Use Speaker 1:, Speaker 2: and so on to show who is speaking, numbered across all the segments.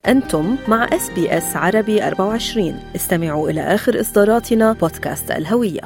Speaker 1: أنتم مع SBS عربي 24. استمعوا إلى آخر إصداراتنا بودكاست الهوية.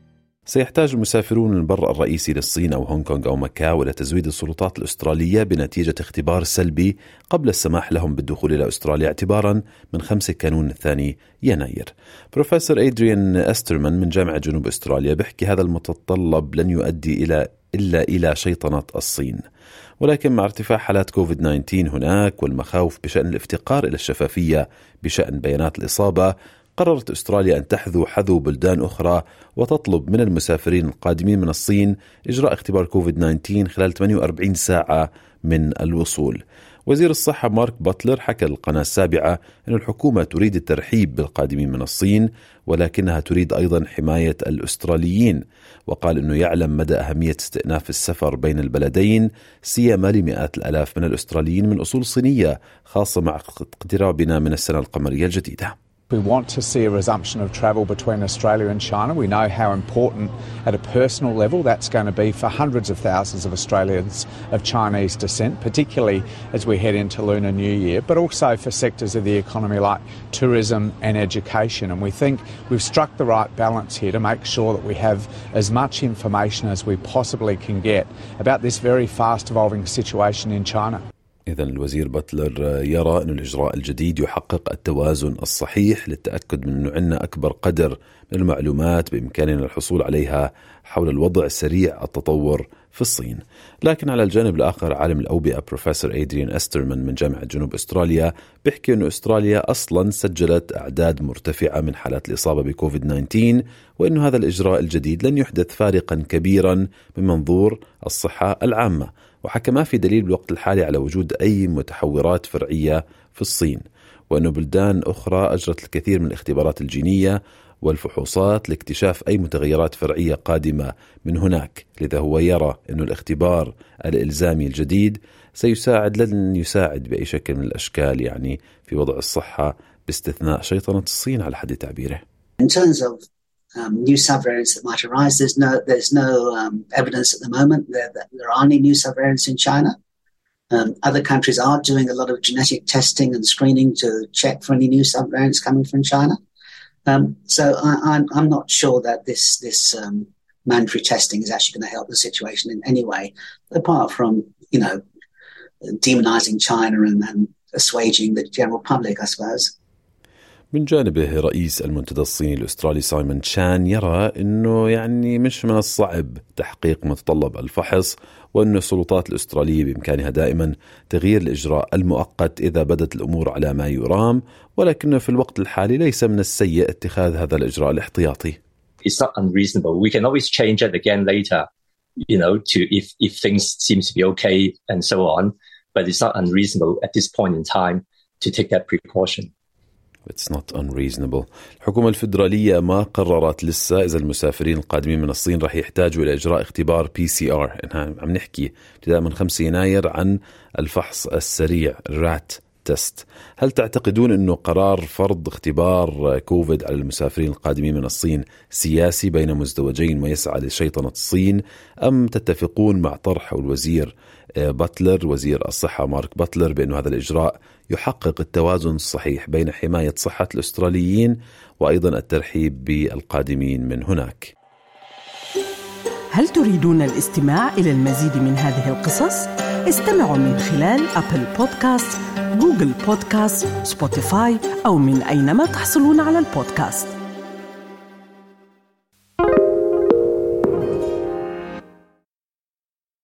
Speaker 2: سيحتاج المسافرون من البر الرئيسي للصين أو هونغ كونغ أو ماكاو إلى تزويد السلطات الأسترالية بنتيجة اختبار سلبي قبل السماح لهم بالدخول إلى أستراليا اعتبارا من 5 كانون الثاني يناير. بروفيسور أدريان أسترمان من جامعة جنوب أستراليا بيحكي هذا المتطلب لن يؤدي إلا إلى شيطنة الصين، ولكن مع ارتفاع حالات كوفيد-19 هناك والمخاوف بشأن الافتقار إلى الشفافية بشأن بيانات الإصابة، قررت أستراليا أن تحذو حذو بلدان أخرى وتطلب من المسافرين القادمين من الصين إجراء اختبار كوفيد-19 خلال 48 ساعة من الوصول. وزير الصحة مارك باتلر حكى للقناة السابعة أن الحكومة تريد الترحيب بالقادمين من الصين، ولكنها تريد أيضا حماية الأستراليين، وقال أنه يعلم مدى أهمية استئناف السفر بين البلدين سيما لمئات الآلاف من الأستراليين من أصول صينية، خاصة مع اقترابنا من السنة القمرية الجديدة.
Speaker 3: We want to see a resumption of travel between Australia and China. We know how important at a personal level that's going to be for hundreds of thousands of Australians of Chinese descent, particularly as we head into Lunar New Year, but also for sectors of the economy like tourism and education. And we think we've struck the right balance here to make sure that we have as much information as we possibly can get about this very fast evolving situation in China.
Speaker 2: إذن الوزير باتلر يرى أن الإجراء الجديد يحقق التوازن الصحيح للتأكد من أنه عندنا أكبر قدر من المعلومات بإمكاننا الحصول عليها حول الوضع سريع التطور في الصين. لكن على الجانب الآخر عالم الأوبئة بروفيسور أدريان أسترمان من جامعة جنوب أستراليا بيحكي أن أستراليا أصلا سجلت أعداد مرتفعة من حالات الإصابة بكوفيد-19، وأن هذا الإجراء الجديد لن يحدث فارقا كبيرا من منظور الصحة العامة، وحكى ما في دليل بالوقت الحالي على وجود أي متحورات فرعية في الصين، وأن بلدان أخرى أجرت الكثير من الاختبارات الجينية والفحوصات لاكتشاف أي متغيرات فرعية قادمة من هناك. لذا هو يرى أن الاختبار الإلزامي الجديد لن يساعد بأي شكل من الأشكال يعني في وضع الصحة باستثناء شيطنة الصين على حد تعبيره.
Speaker 4: In terms of new subvariants that might arise, there's no evidence at the moment that there are any new subvariants in China. Other countries are doing a lot of genetic testing and screening to check for any new subvariants coming from China. So I'm not sure that this mandatory testing is actually going to help the situation in any way, apart from, demonizing China and assuaging the general public, I suppose.
Speaker 2: من جانبه رئيس المنتدى الصيني الأسترالي سايمون تشان يرى أنه مش من الصعب تحقيق متطلب الفحص، وأن السلطات الأسترالية بإمكانها دائما تغيير الإجراء المؤقت إذا بدت الأمور على ما يرام، ولكنه في الوقت الحالي ليس من السيء اتخاذ هذا الإجراء الاحتياطي.
Speaker 5: It's not unreasonable. We can always change it again later, to if things seem to be okay and so on, but it's not unreasonable at this point in time to take that precaution.
Speaker 2: It's not unreasonable. الحكومة الفيدرالية ما قررت لسه إذا المسافرين القادمين من الصين رح يحتاجوا إلى إجراء اختبار PCR. عم نحكي ابتداء من 5 يناير عن الفحص السريع رات تست. هل تعتقدون أنه قرار فرض اختبار كوفيد على المسافرين القادمين من الصين سياسي بين مزدوجين ويسعى لشيطنة الصين، أم تتفقون مع طرح الوزير باتلر وزير الصحة مارك باتلر بأن هذا الإجراء يحقق التوازن الصحيح بين حماية صحة الأستراليين وأيضا الترحيب بالقادمين من هناك؟
Speaker 1: هل تريدون الاستماع إلى المزيد من هذه القصص؟ استمعوا من خلال أبل بودكاست، جوجل بودكاست، سبوتيفاي أو من أينما تحصلون على البودكاست.